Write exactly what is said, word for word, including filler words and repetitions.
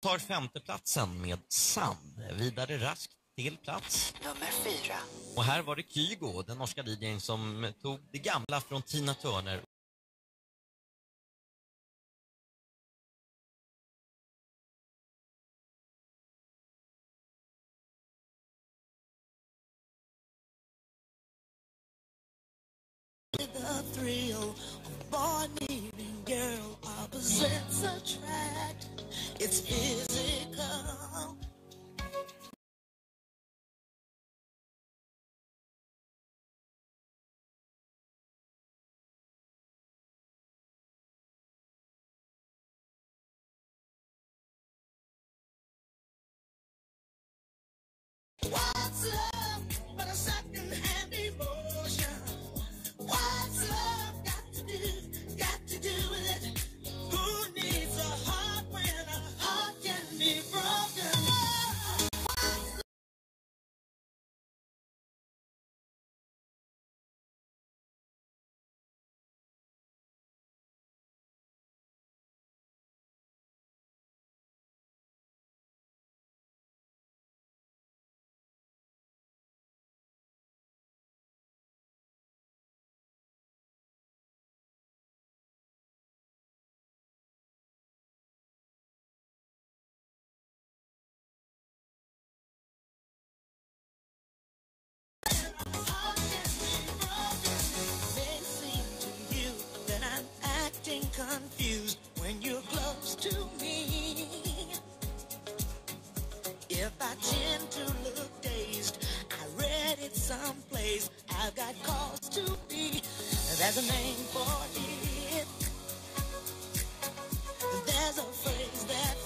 tar femteplatsen med Sand. Vidare raskt till plats nummer fyra. Och här var det Kygo, den norska D J:n, som tog det gamla från Tina Turner. The thrill of boy meeting girl, opposites attract. It's physical. What's love but a second-hand emotion? What's love got to do, got to do with it? Who needs a heart when a heart can be broken? Confused when you're close to me. If I tend to look dazed, I read it someplace. I've got cause to be. There's a name for it. There's a phrase that